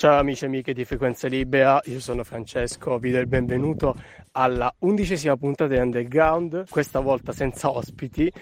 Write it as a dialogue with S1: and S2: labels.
S1: Ciao amici e amiche di Frequenza Libera, io sono Francesco, vi do il benvenuto alla 11ª puntata di Underground, questa volta senza ospiti,